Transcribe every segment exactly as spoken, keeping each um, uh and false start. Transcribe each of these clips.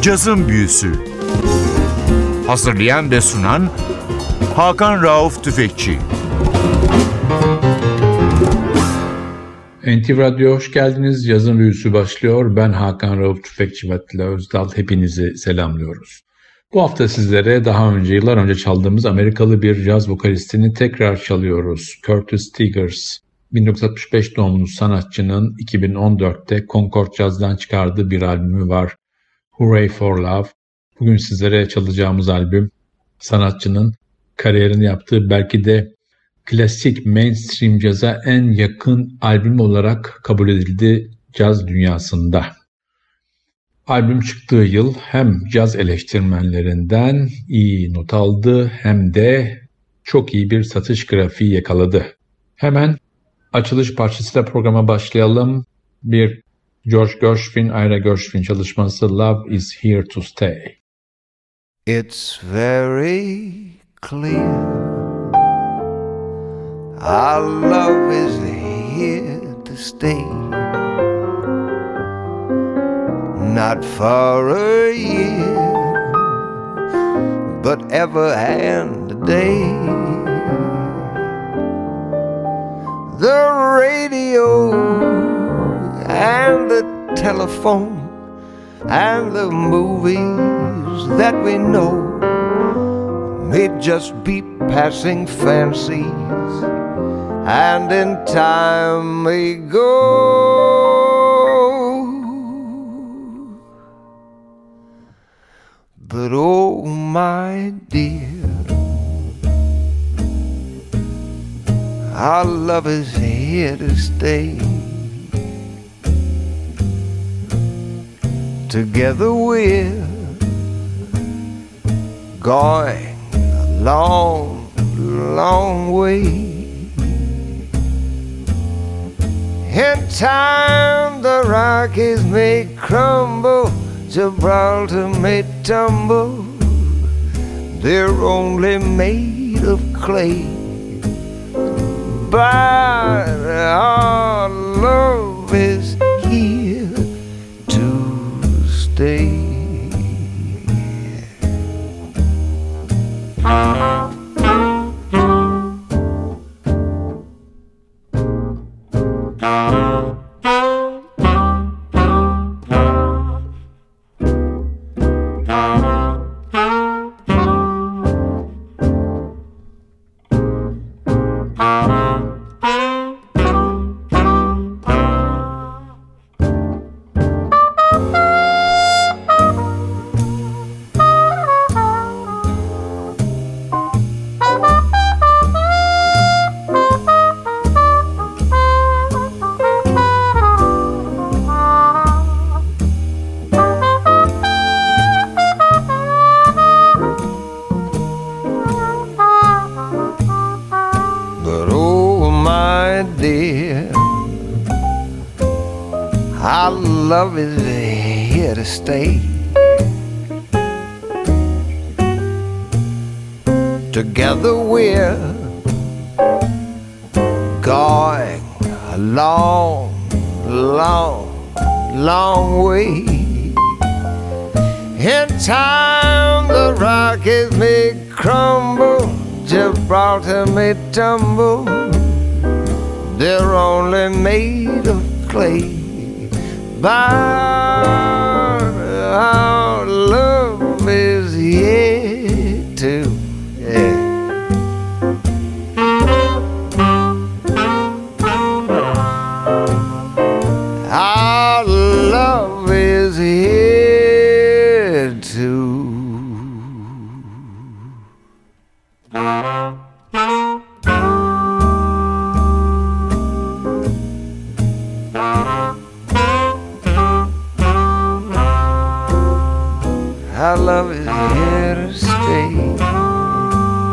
Cazın Büyüsü. Hazırlayan ve sunan Hakan Rauf Tüfekçi. N T V Radyo hoş geldiniz. Cazın Büyüsü başlıyor. Ben Hakan Rauf Tüfekçi ve Atilla Özdal. Hepinizi selamlıyoruz. Bu hafta sizlere daha önce, yıllar önce çaldığımız Amerikalı bir caz vokalistini tekrar çalıyoruz. Curtis Stigers. bin dokuz yüz altmış beş doğumlu sanatçının iki bin on dörtte Concord Jazz'dan çıkardığı bir albümü var. Hooray for Love. Bugün sizlere çalacağımız albüm sanatçının kariyerini yaptığı belki de klasik mainstream caza en yakın albüm olarak kabul edildi caz dünyasında. Albüm çıktığı yıl hem caz eleştirmenlerinden iyi not aldı hem de çok iyi bir satış grafiği yakaladı. Hemen açılış parçasıyla programa başlayalım. Bir George Gershwin, Ira Gershwin çalışması Love is Here to Stay. It's very clear our love is here to stay. Not for a year, but ever and a day. The radio and the telephone and the movies that we know may just be passing fancies, and in time may go. But oh my dear, our love is here to stay. Together we're going a long, long way. In time the Rockies may crumble, Gibraltar may tumble, they're only made of clay. But our love is here to stay. Love is here to stay. Together we're going a long, long, long way. In time the Rockies may crumble, Gibraltar may tumble, they're only made of clay. But our love is here to yeah. Our love is here to Our love is here to stay.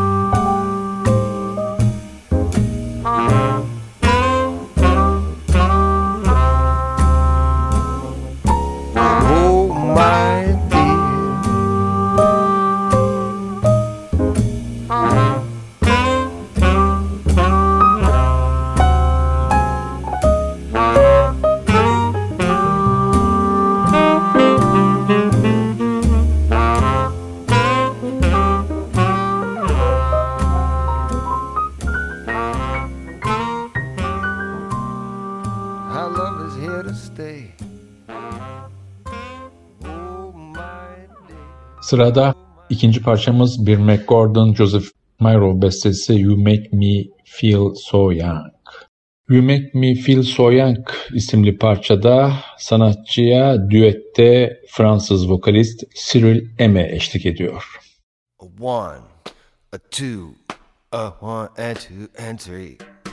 Sırada ikinci parçamız bir McGordon Joseph Miro bestesi You Make Me Feel So Young. You Make Me Feel So Young isimli parçada sanatçıya düette Fransız vokalist Cyril Eme eşlik ediyor. A one, a two, a one and two and three.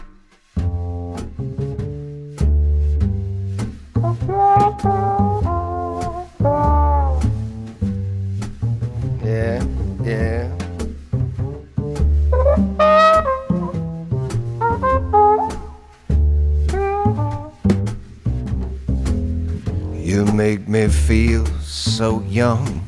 Yeah, yeah. You make me feel so young.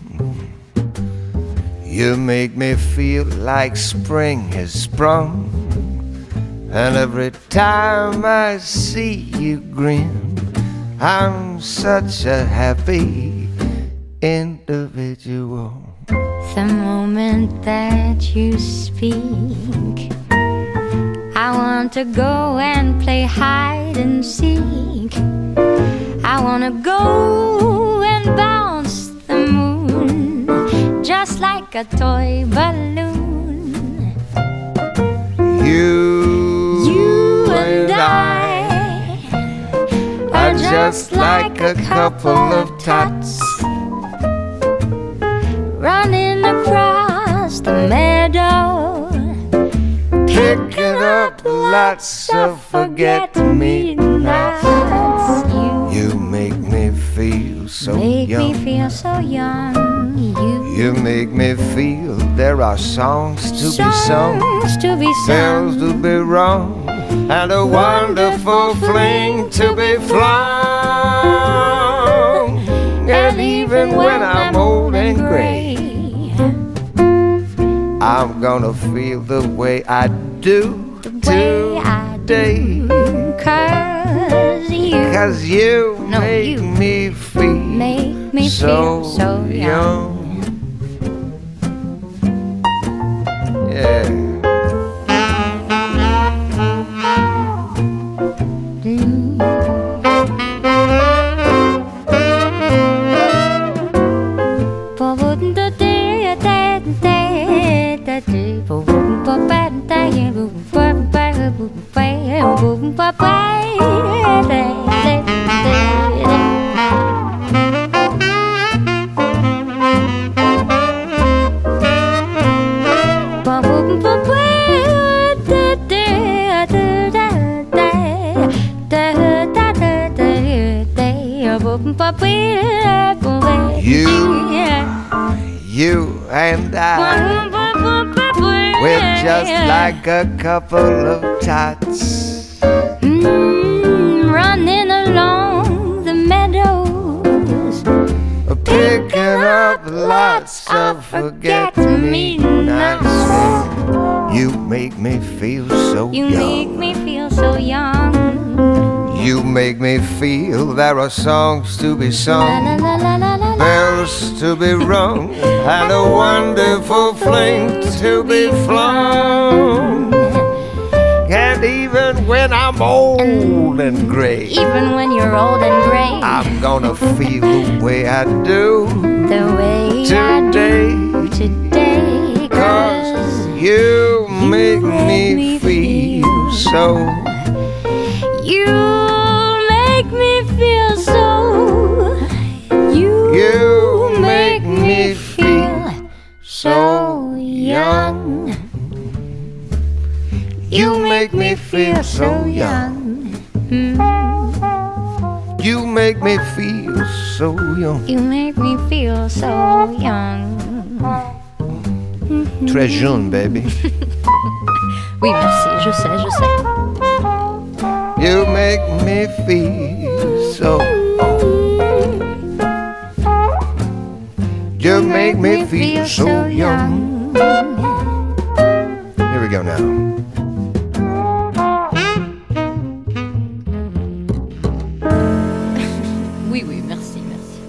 You make me feel like spring has sprung. And every time I see you grin, I'm such a happy individual. The moment that you speak, I want to go and play hide and seek. I want to go and bounce the moon just like a toy balloon. You, You and I I are just like a couple of tots running across the meadow, picking up lots of forget-me-nots. You You make me feel so make young. me feel so young. You You make me feel there are songs to be sung, songs to be bells sung, to be rung, and a wonderful fling to be flung. And even when I'm old and gray, I'm gonna feel the way I do the way I today. do, 'cause you Cause you No, make you me feel make me so, feel so young. young. Yeah. You, you and I, we're just like a couple of tots Mm, running along the meadows, picking up lots of forget-me-nots. You make me feel so you make young. me feel so young. You make me feel there are songs to be La sung, la la la la la. bells to be rung, and a wonderful fling to be flung. And even when I'm old and gray, Even when you're old and gray, I'm gonna feel the way I do the way I today. do today, 'cause Cause you make me feel so. you make me feel so. You, You make me feel so young. You make me feel so young. Mm. You make me feel so young. You make me feel so young. Très jeune, baby. Oui, merci, je sais, je sais. You make me feel so. You make me feel so young. Here we go now. Oui, oui, merci, merci.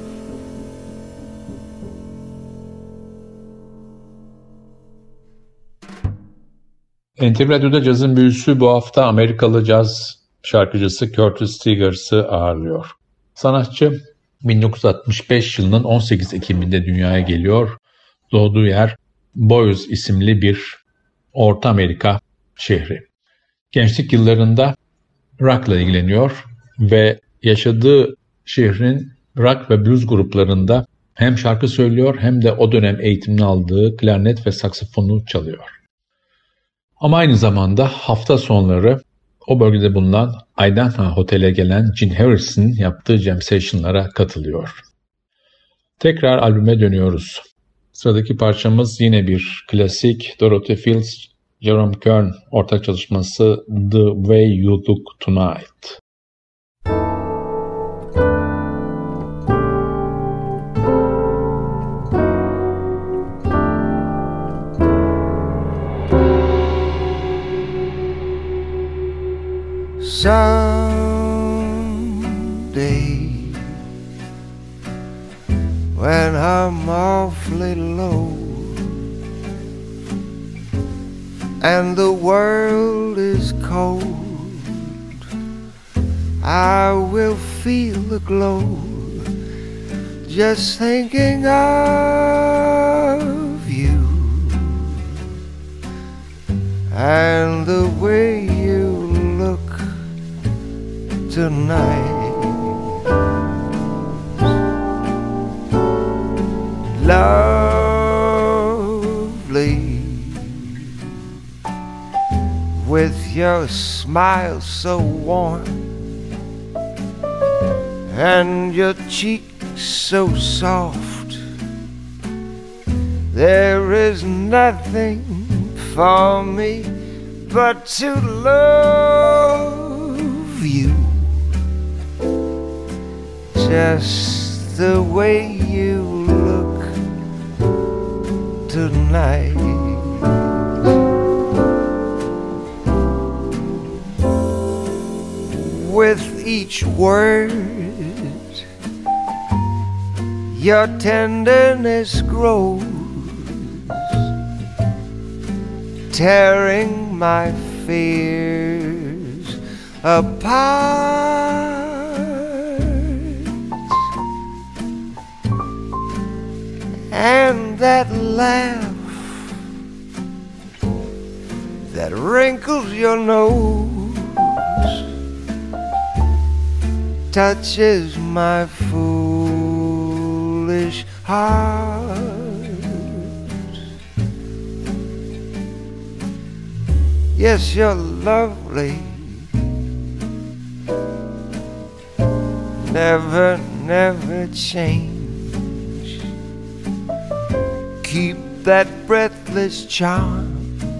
N T V Radyo'da cazın büyüsü bu hafta Amerikalı caz şarkıcısı Curtis Stiggers'ı ağırlıyor. Sanatçı bin dokuz yüz altmış beş yılının on sekiz Ekim'inde dünyaya geliyor. Doğduğu yer Boise isimli bir Orta Amerika şehri. Gençlik yıllarında rock'la ilgileniyor ve yaşadığı şehrin rock ve blues gruplarında hem şarkı söylüyor hem de o dönem eğitimini aldığı klarnet ve saksafonu çalıyor. Ama aynı zamanda hafta sonları o bölgede bulunan Idaho Hotel'e gelen Gene Harris'in yaptığı jam session'lara katılıyor. Tekrar albüme dönüyoruz. Sıradaki parçamız yine bir klasik, Dorothy Fields, Jerome Kern ortak çalışması The Way You Look Tonight. Someday, when I'm awfully low and the world is cold, I will feel the glow just thinking of you and the way you look tonight. Lovely, with your smile so warm and your cheeks so soft, there is nothing for me but to love you just the way you look tonight. With each word, your tenderness grows, tearing my fears apart. And that laugh that wrinkles your nose touches my foolish heart. Yes, you're lovely, never, never change. Keep that breathless charm.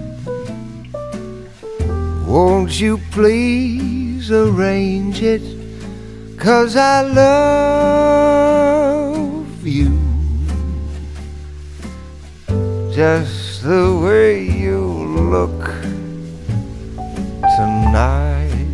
Won't you please arrange it? 'Cause I love you just the way you look tonight.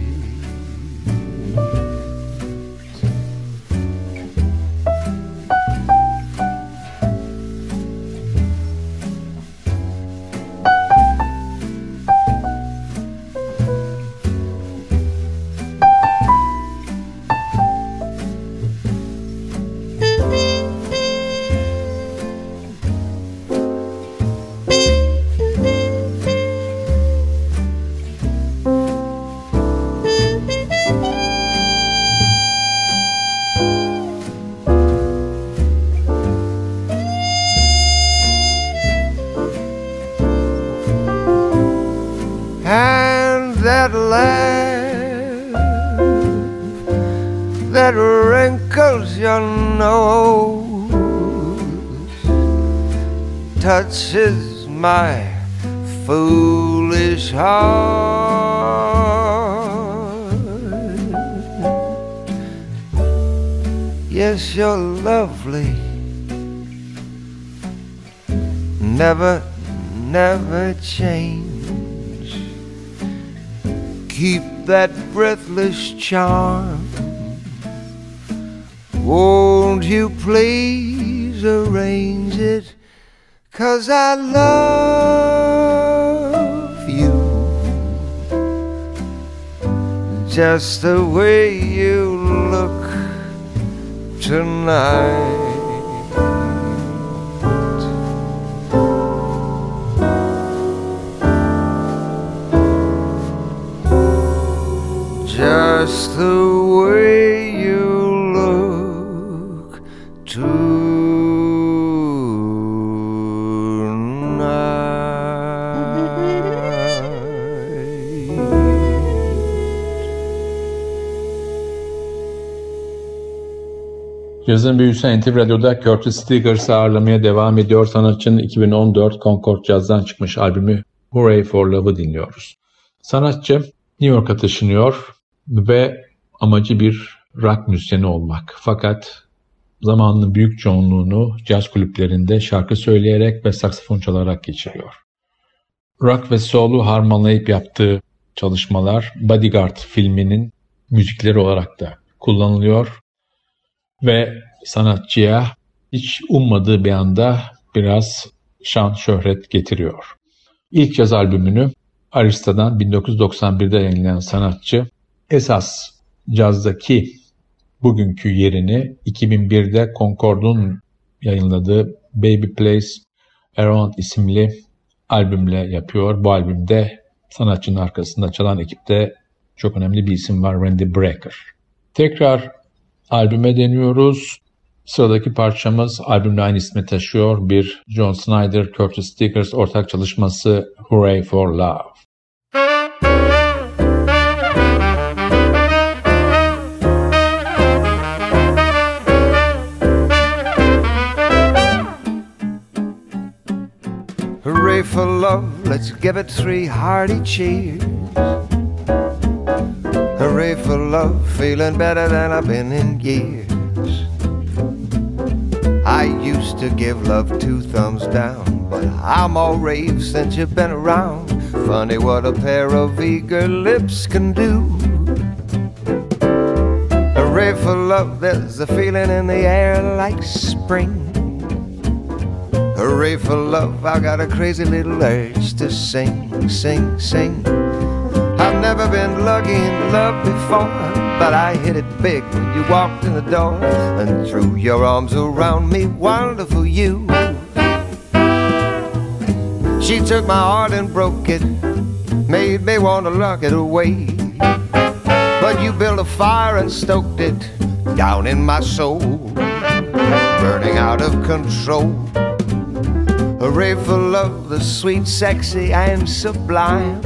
That laugh that wrinkles your nose touches my foolish heart. Yes, you're lovely, never, never change. Keep that breathless charm. Won't you please arrange it? 'Cause I love you just the way you look tonight. just the way you look Cazın büyüsü N T V Radyo'da Curtis Stiggers'ı ağırlamaya devam ediyor. Sanatçının iki bin on dört Concord Jazz'dan çıkmış albümü Hooray for Love'ı dinliyoruz. Sanatçı New York'a taşınıyor ve amacı bir rock müzisyeni olmak. Fakat zamanının büyük çoğunluğunu caz kulüplerinde şarkı söyleyerek ve saksafon çalarak geçiriyor. Rock ve soul'u harmanlayıp yaptığı çalışmalar Bodyguard filminin müzikleri olarak da kullanılıyor ve sanatçıya hiç ummadığı bir anda biraz şan şöhret getiriyor. İlk caz albümünü Arista'dan bin dokuz yüz doksan birde yayınlayan sanatçı esas cazdaki bugünkü yerini iki bin birde Concord'un yayınladığı Baby Plays Around isimli albümle yapıyor. Bu albümde sanatçının arkasında çalan ekipte çok önemli bir isim var, Randy Brecker. Tekrar albüme deniyoruz. Sıradaki parçamız albümle aynı ismi taşıyor. Bir John Snyder, Curtis Stiggers ortak çalışması Hooray for Love. Hooray for love, let's give it three hearty cheers. Hooray for love, feeling better than I've been in years. I used to give love two thumbs down, but I'm all rave since you've been around. Funny what a pair of eager lips can do. Hooray for love, there's a feeling in the air like spring. Hooray for love, I got a crazy little urge to sing, sing, sing. I've never been lucky in love before, but I hit it big when you walked in the door and threw your arms around me, wonderful you. She took my heart and broke it, made me want to lock it away. But you built a fire and stoked it down in my soul, burning out of control. Hooray for love, the sweet, sexy, and sublime.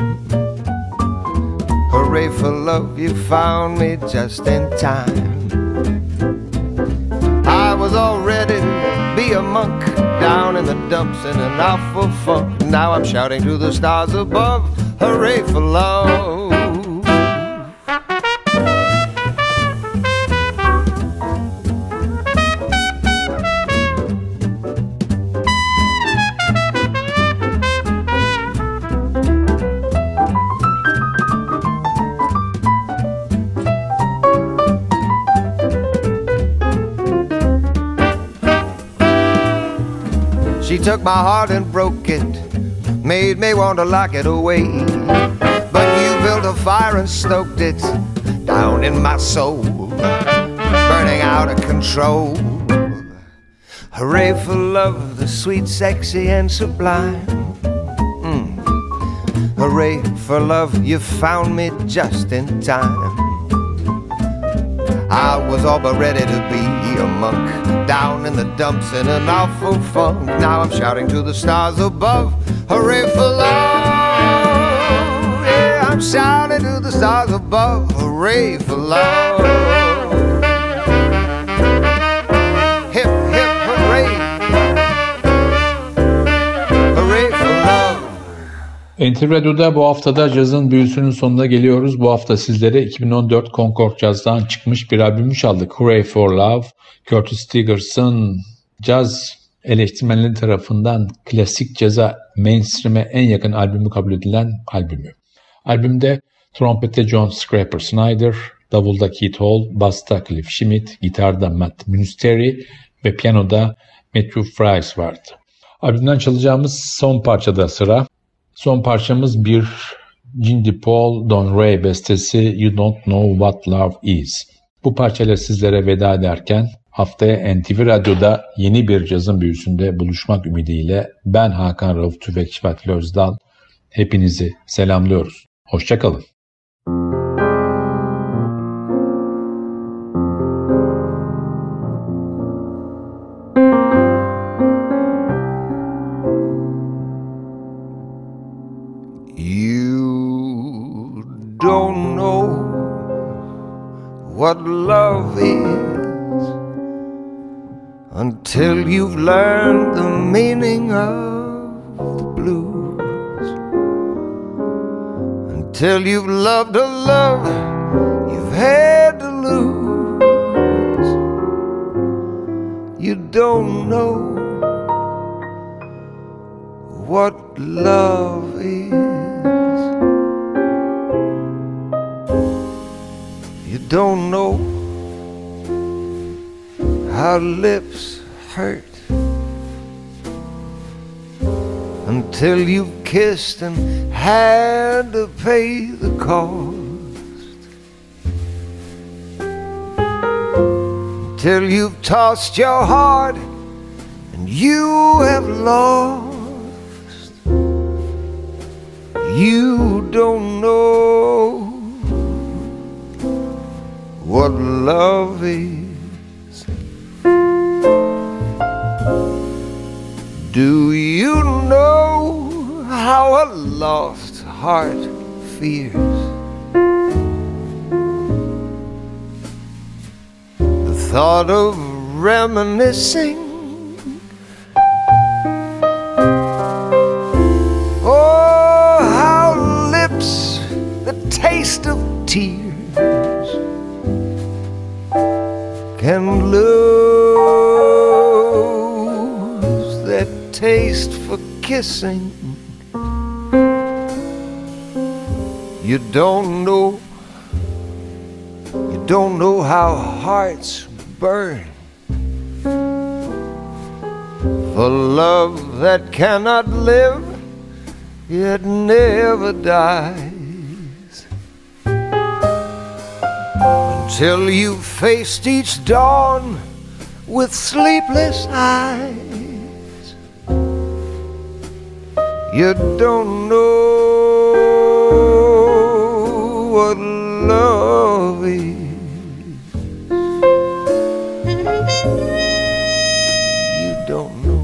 Hooray for love, you found me just in time. I was all ready to be a monk down in the dumps in an awful funk. Now I'm shouting to the stars above, hooray for love. She took my heart and broke it, made me want to lock it away. But you built a fire and stoked it down in my soul, burning out of control. Hooray for love, the sweet, sexy, and sublime. Mm. Hooray for love, you found me just in time. I was all but ready to be a monk down in the dumps in an awful funk. Now I'm shouting to the stars above, hooray for love. Yeah, I'm shouting to the stars above, hooray for love. Hip, hip, hooray. Hooray for love. N T V Radyo'da bu haftada cazın büyüsünün sonuna geliyoruz. Bu hafta sizlere iki bin on dört Concord Jazz'dan çıkmış bir albümü çaldık. Hooray for Love, Curtis Stiggers'ın caz eleştirmenleri tarafından klasik caza, mainstream'e en yakın albümü kabul edilen albümü. Albümde trompette John Scraper Snyder, davulda Keith Hall, basta Cliff Schmidt, gitarda Matt Munsteri ve piyanoda Matthew Fries vardı. Albümden çalacağımız son parçada sıra. Son parçamız bir Cindy Paul, Don Ray bestesi You Don't Know What Love Is. Bu parçayla sizlere veda ederken haftaya N T V Radyo'da yeni bir cazın büyüsünde buluşmak ümidiyle ben Hakan Rauf Tüfekçi ve Atilla Özdal hepinizi selamlıyoruz. Hoşça kalın. You don't know what love is until you've learned the meaning of the blues, until you've loved a love you've had to lose. You don't know what love is. You don't know how lips hurt until you've kissed and had to pay the cost, until you've tossed your heart and you have lost. You don't know what love is. Do you know how a lost heart fears the thought of reminiscing? Oh, how lips the taste of tears can lose that taste for kissing. You don't know, you don't know how hearts burn for love that cannot live, yet never dies. Until you've faced each dawn with sleepless eyes, you don't know what love is. You don't know.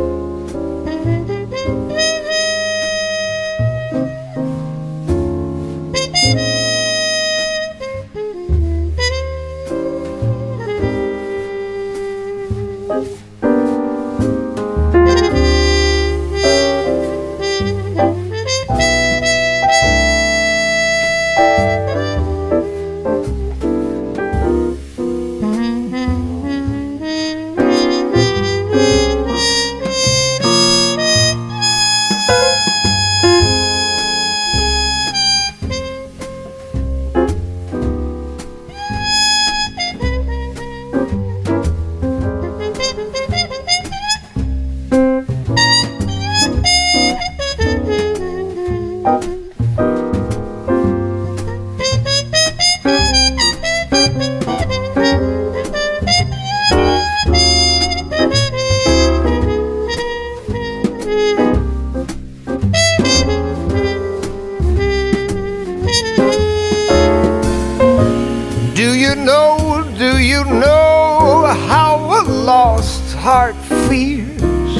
Do you know, do you know how a lost heart fears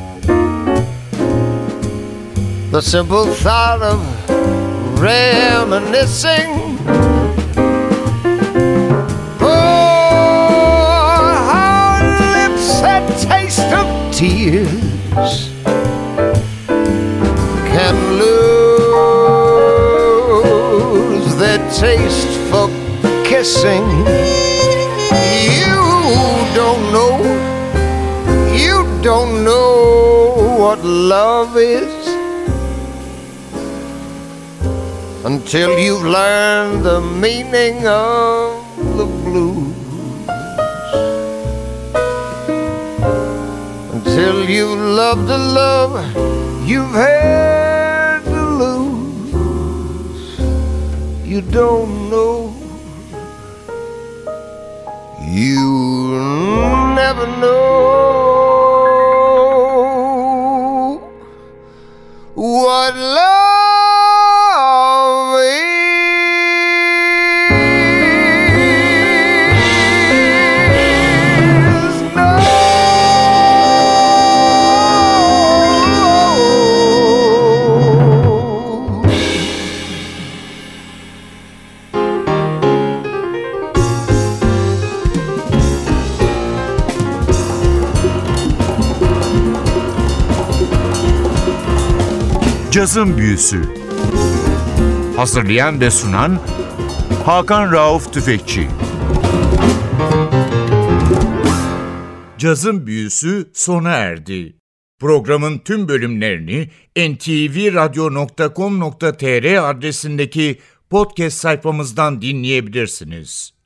the simple thought of reminiscing? Oh, how lips that taste of tears can lose their taste for kissing. You don't know, you don't know what love is until you've learned the meaning of the blues, until you've loved a love you've had to lose. You don't know. You never know what love is. No. Cazın Büyüsü. Hazırlayan ve sunan Hakan Rauf Tüfekçi. Cazın Büyüsü sona erdi. Programın tüm bölümlerini en te ve radyo nokta com nokta te er adresindeki podcast sayfamızdan dinleyebilirsiniz.